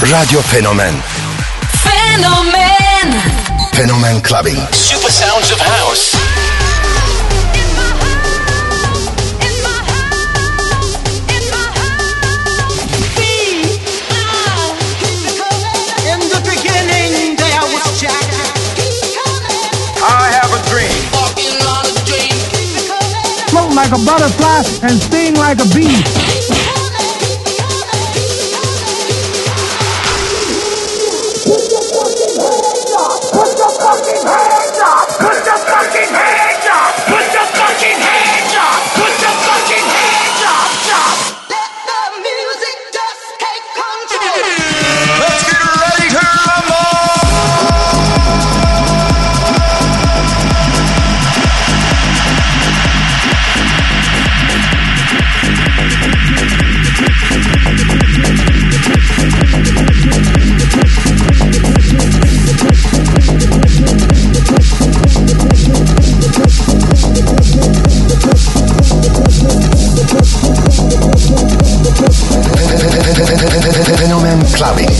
Radyo Fenomen. Fenomen. Fenomen Clubbing. Super sounds of house. In the beginning there was Jack. I have a dream. Float like a butterfly and sting like a bee. Fenomen Clubbing.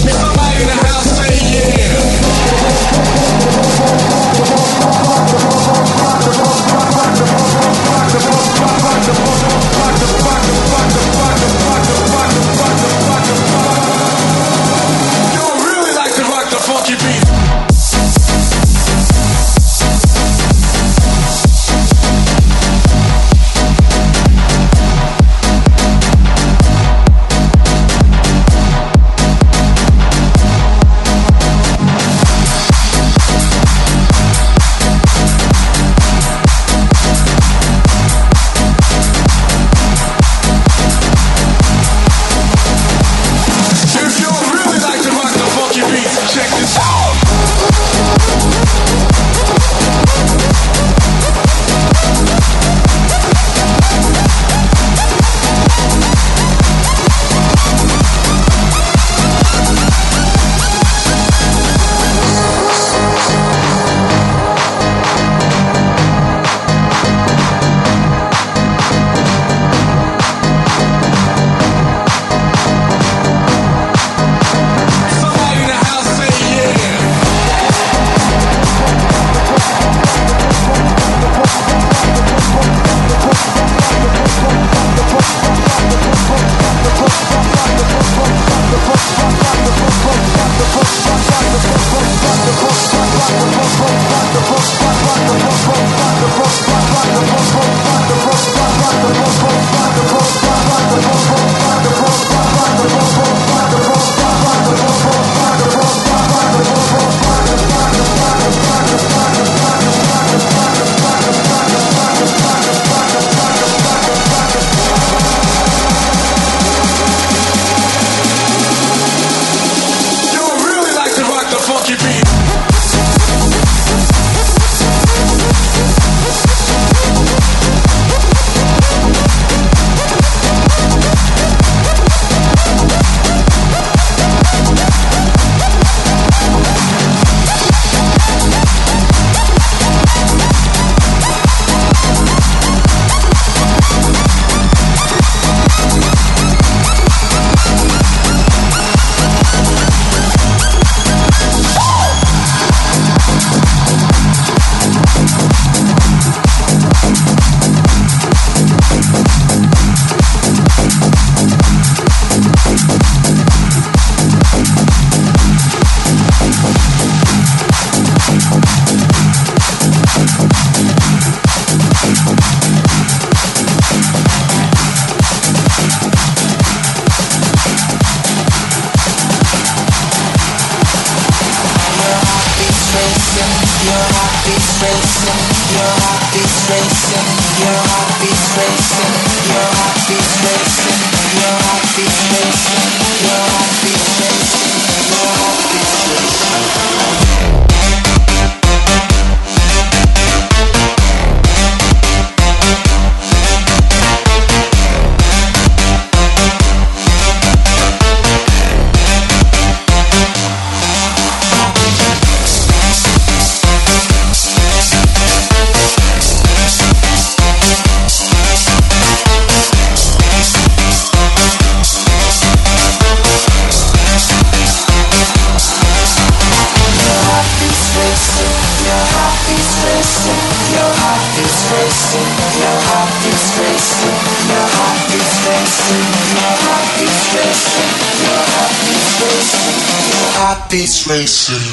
heartbeats racing.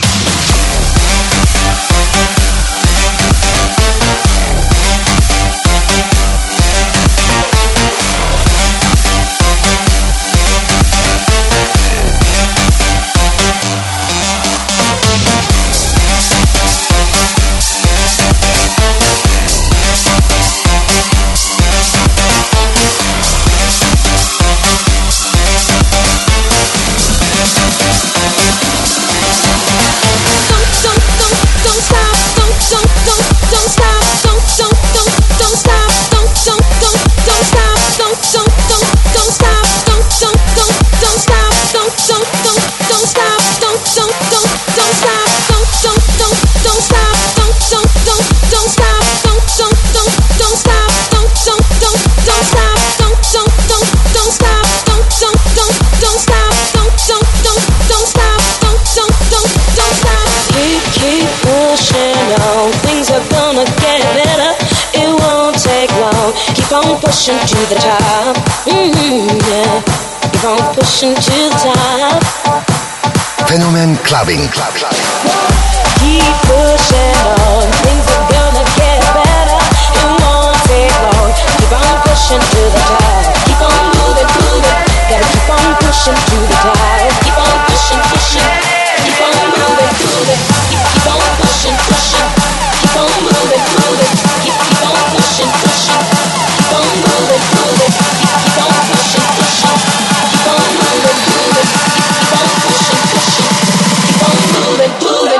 Pushing to the top, yeah. Keep on pushing to the top. Fenomen Clubbing. Keep pushing on, things are gonna get better. It won't take long. Keep on pushing to the top. Keep on moving, moving. Gotta keep on pushing to the top. Keep on pushing, pushing. Keep on moving, moving. Keep on pushing, pushing. Keep on moving, moving. Keep on pushing, pushing. Keep on moving, moving. Keep on pushing, pushing. Keep on moving, moving. Keep on pushing, pushing. Keep on moving, moving.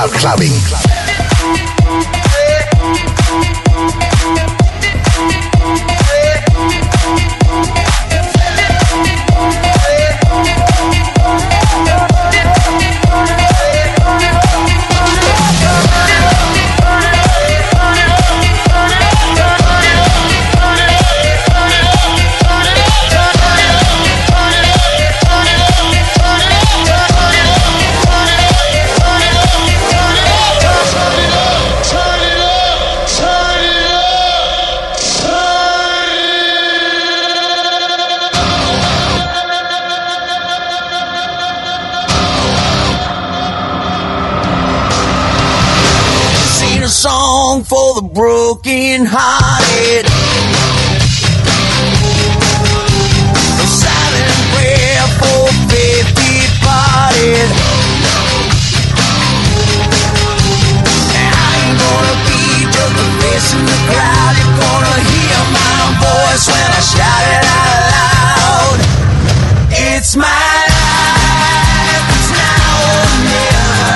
Clubbing. Song for the broken hearted, a silent prayer for faith departed. I ain't gonna be just a face in the crowd. You're gonna hear my voice when I shout it out loud. It's my life, it's now or never.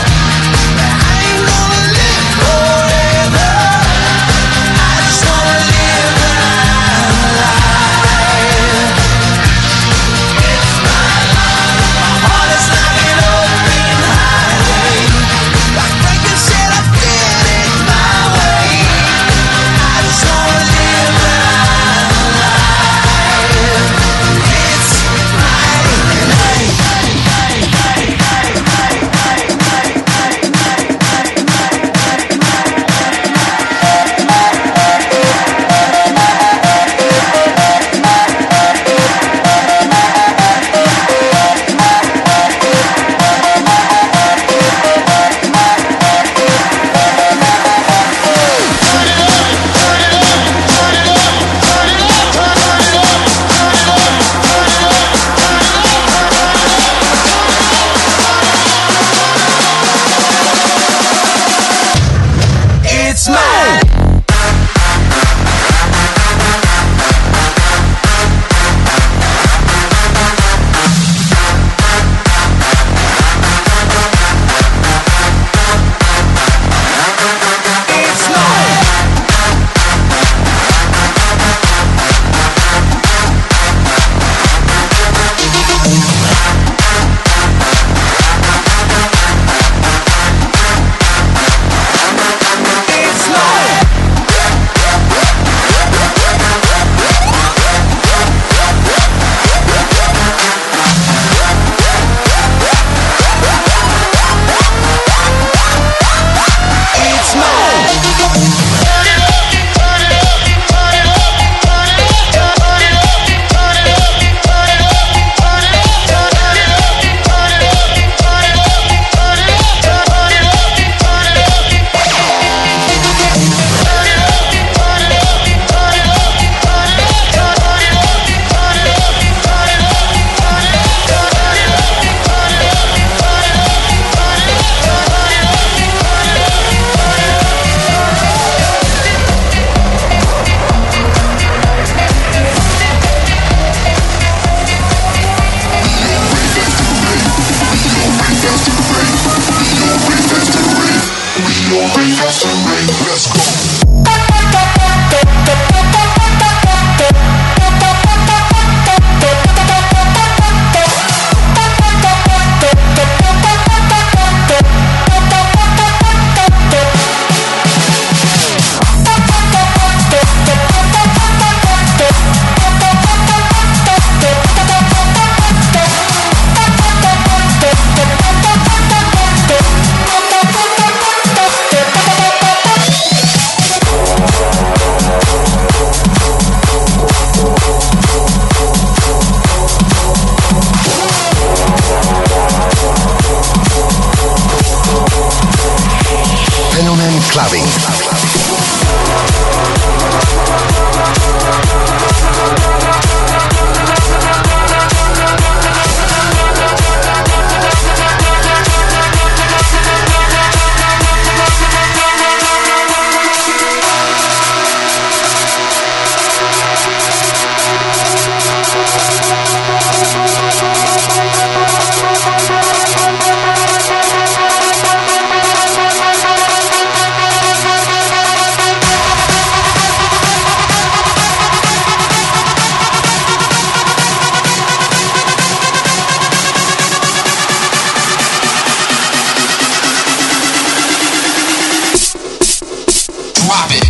Clubbing. Drop it.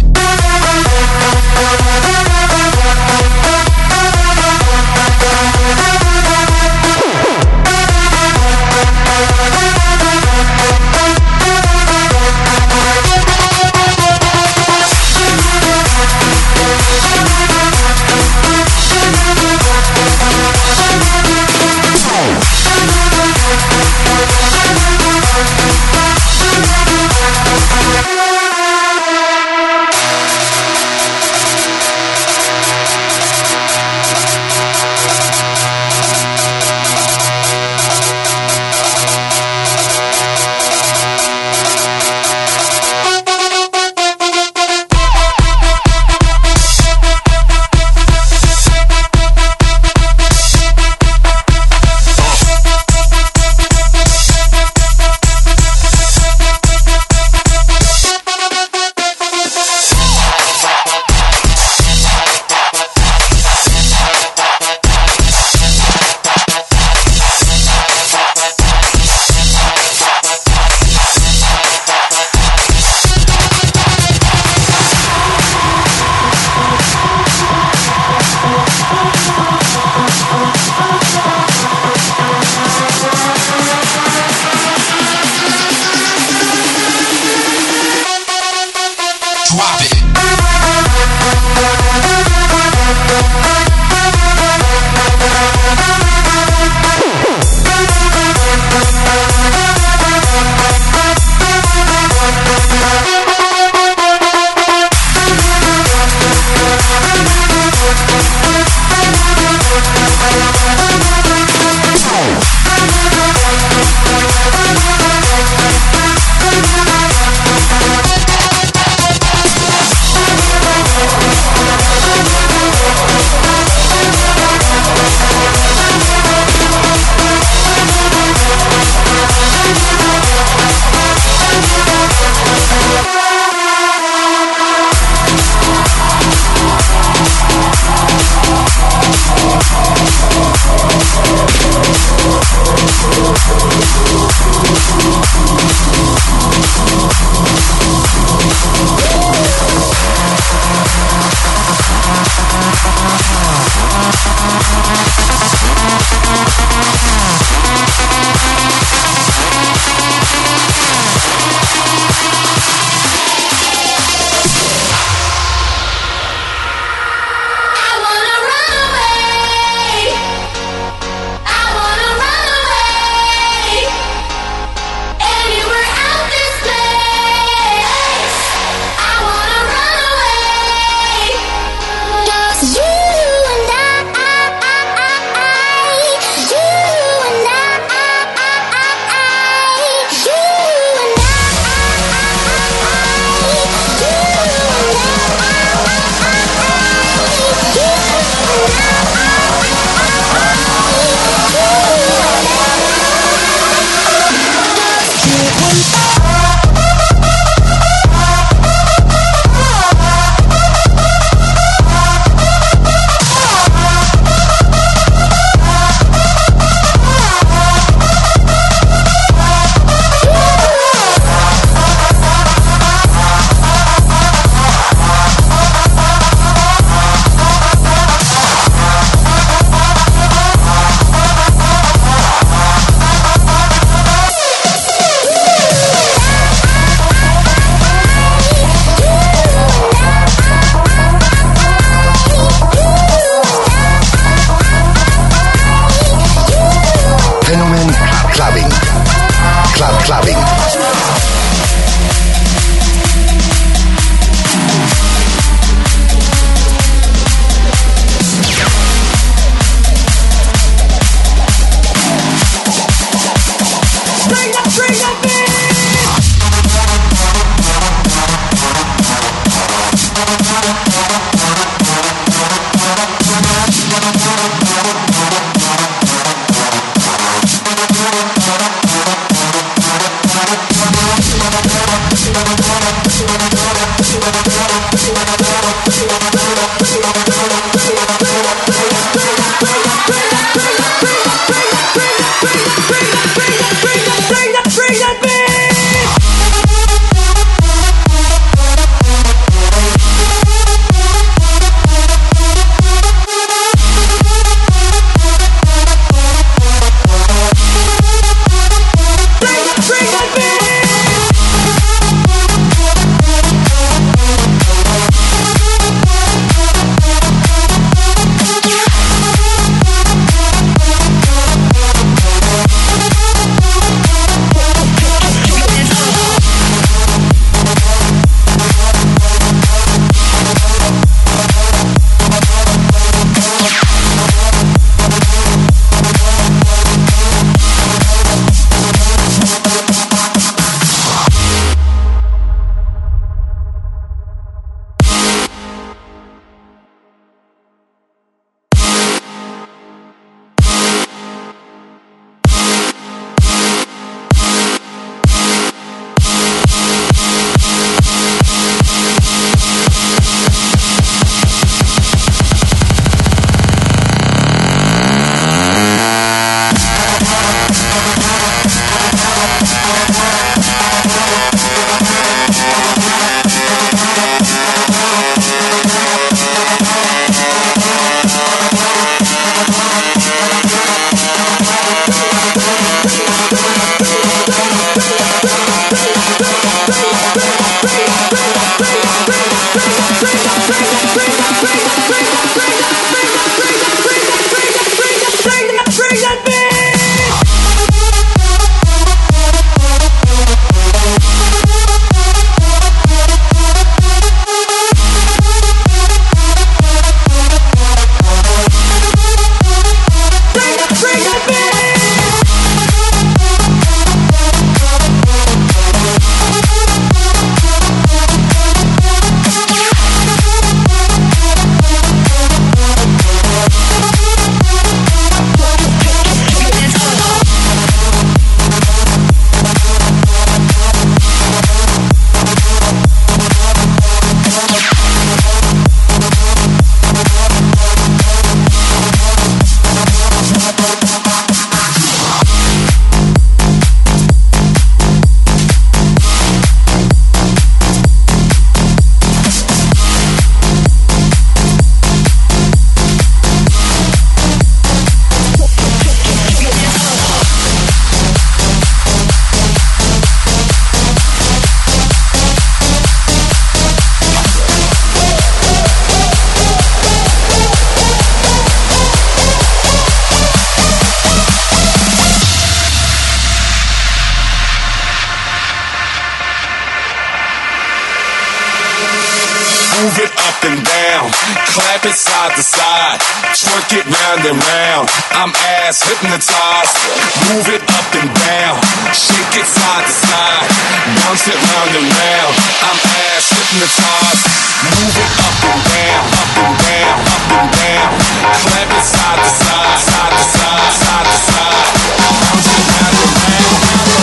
Move it up and down, clap it side to side, twerk it round and round. I'm ass hypnotized. Move it up and down, shake it side to side, bounce it round and round. I'm ass hypnotized. Move it up and down, up and down, up and down, clap it side to side, side to side, side to side, bounce it round and round.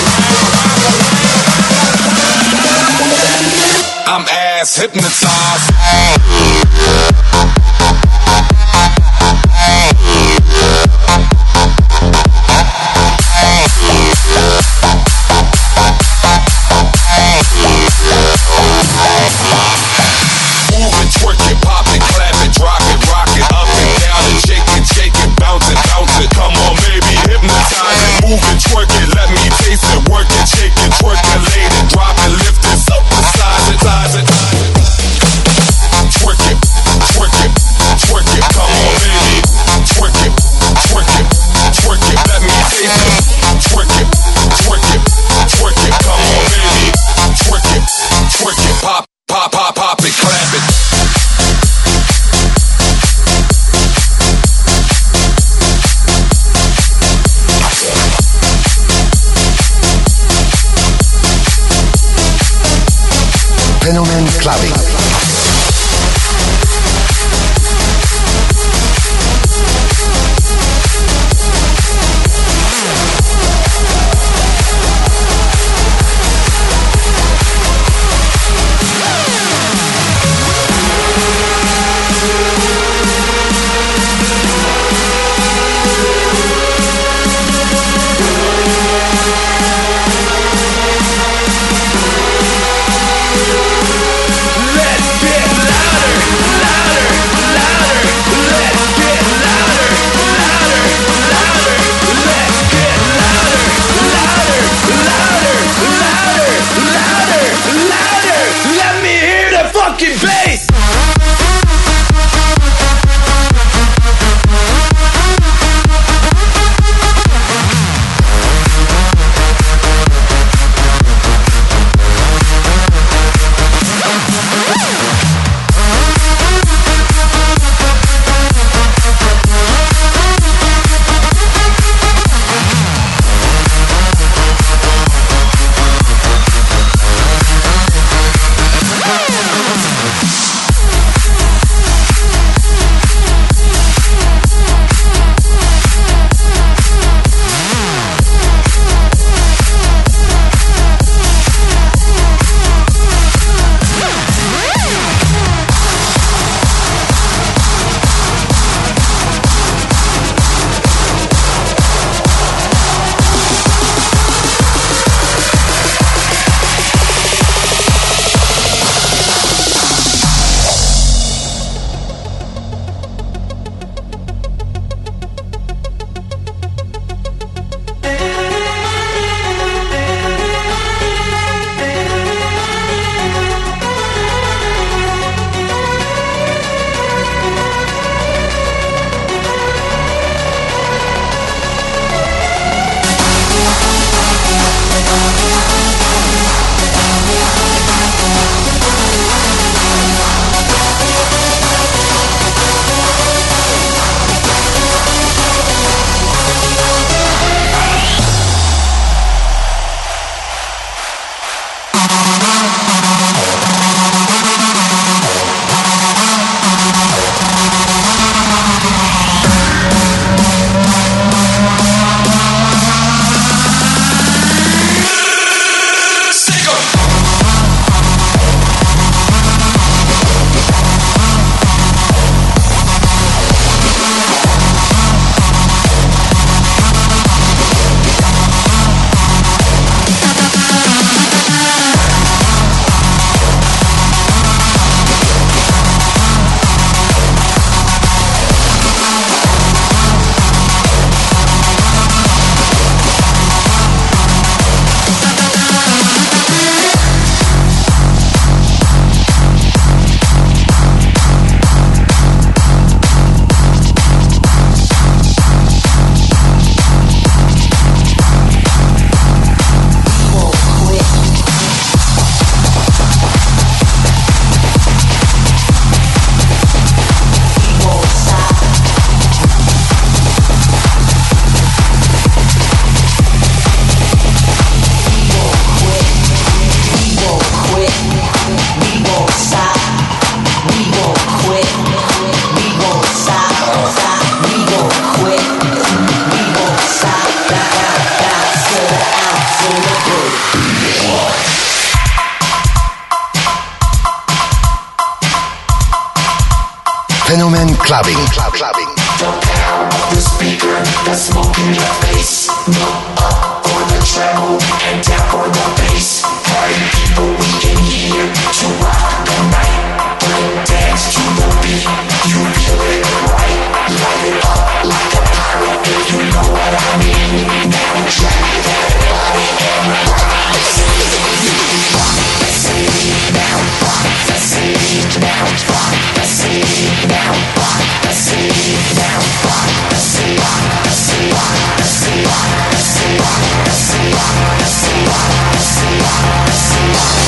I'm ass hypnotized. Move it, twerk it, pop it, clap it, drop it, rock it, up and down and shake it, bounce it, bounce it. Come on, baby, hypnotize it. Move it, twerk it, let me taste it, work it, shake it, twerkulate it, drop it, lift it, supersize it, size it. Twerk it, twerk it, twerk it. Come on, baby, twerk it, twerk it, twerk it. Let me taste it, twerk it, twerk it, twerk it. Come on, baby, twerk it, twerk it, pop, pop, pop, pop it, clap it. Fenomen Clubbing. Let's Clubbing. The speaker, the smoke in your face. Up for the treble and down for the bass. Party people we can hear to rock the night. Bring dance to the beat. You feel it right. Light it up like a pirate. You know what I mean. Now drag everybody and rock the city. Rock the city. Now rock the city. Now rock the city. Now rock the city. Now rock the city. Rock the city. Rock the city. Rock the city. Rock the city. Rock the city. Rock the city. Rock the city.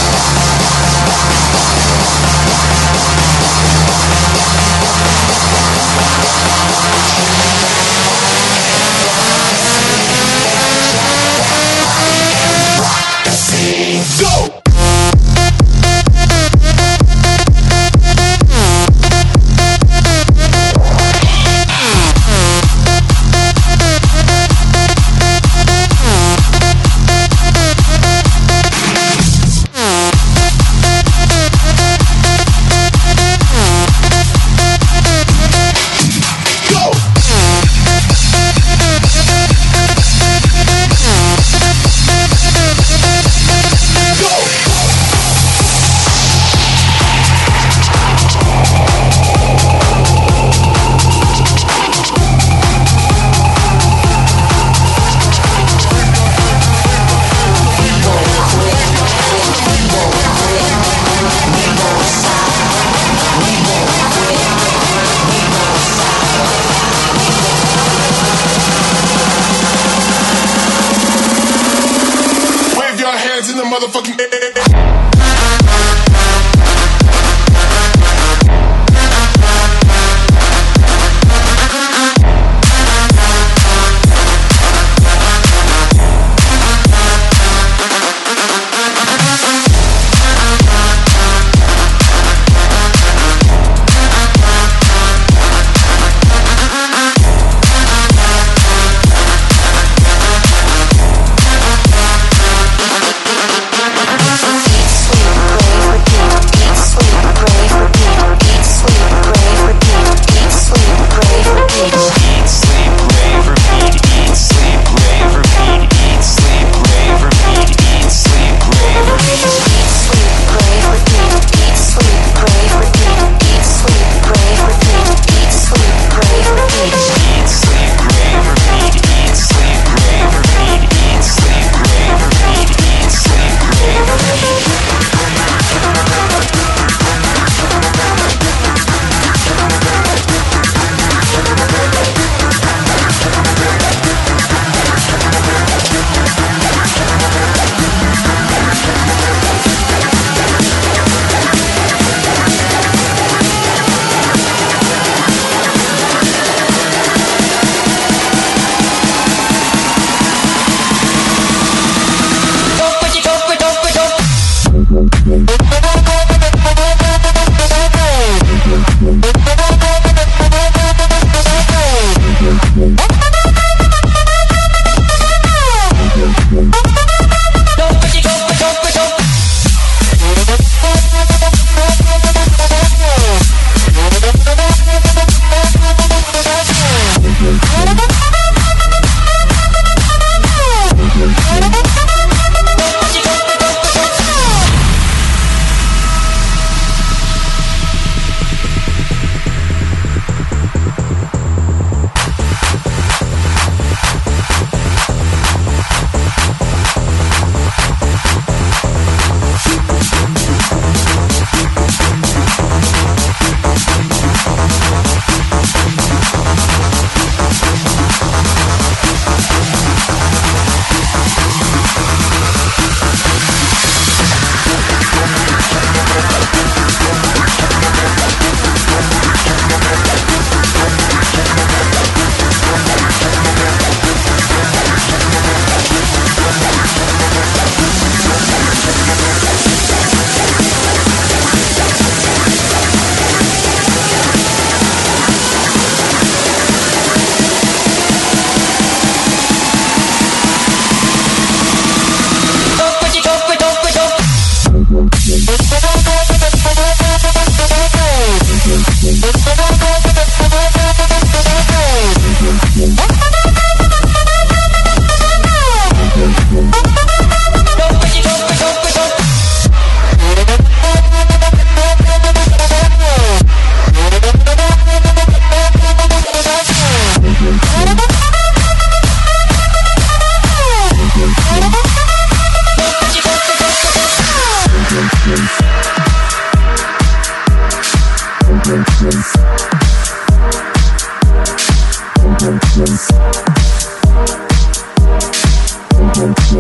Go!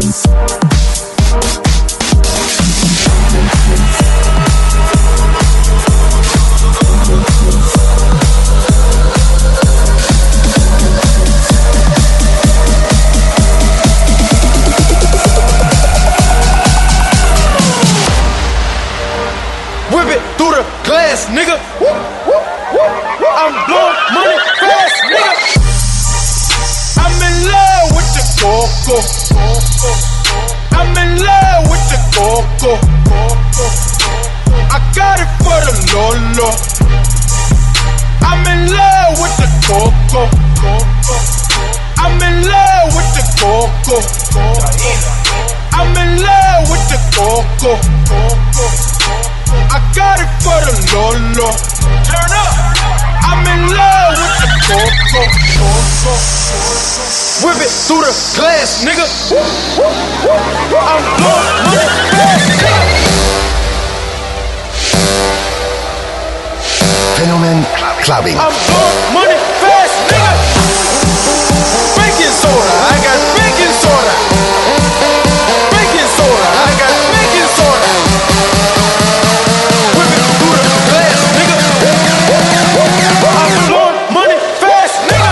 Whip it through the glass, nigga. I'm blowing money fast, nigga. I'm in love with the coco. I'm in love with the coco. I got it for the Lolo. I'm in love with the coco. I'm in love with the coco. I'm in love with the coco. I got it for the Lolo. Turn up. I'm in love with the coco. Whip it through the glass, nigga. I'm blowing money fast, nigga. Fenomen Clubbing. I'm blowing money fast, nigga. Baking soda, I got baking soda. Baking soda, I got baking soda. Whip it through the glass, nigga. I'm blowing money fast, nigga.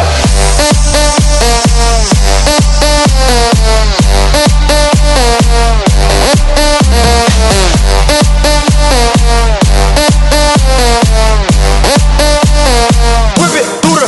Whip it through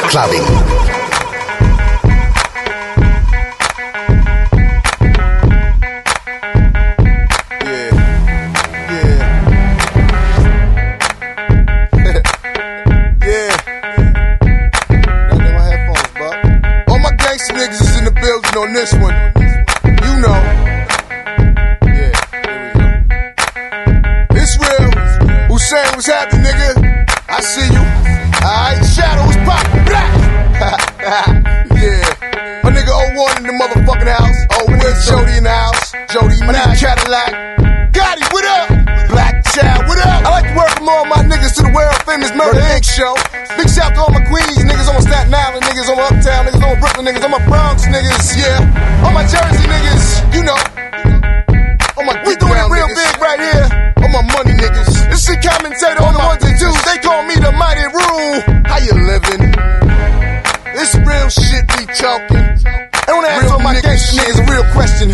Clubbing. On this one, you know. Yeah, here we go. It's real. Hussein, what's happening, nigga? I see you. Alright, shadows pop. Yeah. My nigga 01 in the motherfucking house. Oh, where's Jody in the house? Jody, my nigga Cadillac. Gotti, what up? Black Child, what up? I like to welcome all my niggas to the world famous Murder Inc. show. Big shout to all my Queens niggas, on my Staten Island niggas, on my Uptown niggas, on my Brooklyn niggas, on my Bronx niggas, yeah. On my Jersey niggas, you know. On my we doing it real niggas. Big right here. On my money niggas. This shit commentator on the ones and twos. They call me the mighty rule. How you living? This real shit we talking. I wanna ask all my gangsta niggas a real question.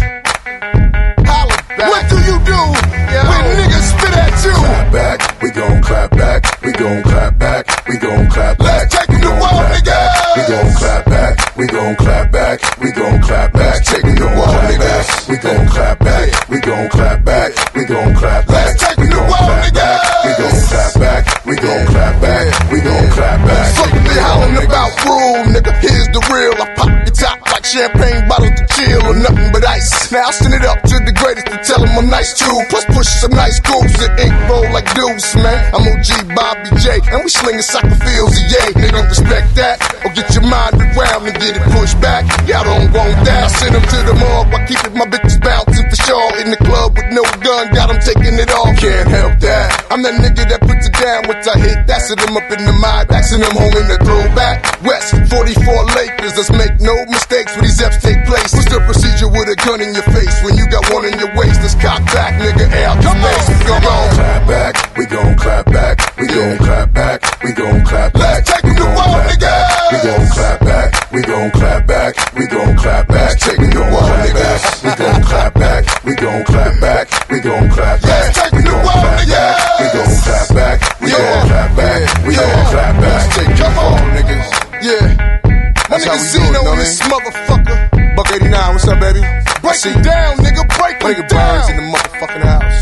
Holla back. What do you do when niggas spit at you? Clap back, we gon' clap back, we gon' clap back, we gon' clap back. Let's take it to war, niggas. We gon' clap back, we gon' clap back, we gon' clap back. Take it to war, niggas. We gon' clap back, we gon' clap back, we gon' clap back. Let's take it to war, niggas. We gon' clap back, we gon' clap back, we gon' clap back. Fuck they hollering about rule, nigga. Here's the real. I pop your top like champagne bottles to chill or nothing but ice. Now I send it up to the greatest to tell them I'm nice too. Plus push some nice grooves and ink roll like deuce, man. I'm OG Bobby J, and we slinging soccer fields, yay. Nigga, respect that, or get your mind rewound and get it pushed back. Y'all don't want that. I send them to the morgue while keeping my bitches bouncing for sure. In the club with no gun, got them taking it off. Can't help that. I'm that nigga that puts it down once I hit. That's it, I'm up in the mind, backing them home in the throwback. West 44 Lakers, let's make no mistakes when these F's take place. What's the procedure with a gun in your face when you got one in your waist? Let's cock back, nigga. Out come on, come on. Clap back, we gon' clap back, we gon' clap back, we gon' clap back. Let's take it to war, niggas. We gon' clap back, we gon' clap back, we gon' clap back. Take it to war, niggas. We gon' clap back, we gon' clap back, we gon' clap back. Let's take it to war, niggas. We gon' clap back, we gon' clap back, we gon' clap back. Come on, niggas. Yeah. My nigga Zeno in this motherfucker. Buck 89, what's up, baby? Break it down, nigga, break My it nigga down. Burns in the motherfucking house.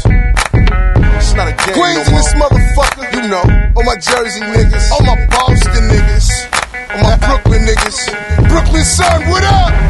It's not a game Queens no in this more. motherfucker. You know. All my Jersey niggas. All my Boston niggas. All my Brooklyn niggas. Brooklyn son, what up?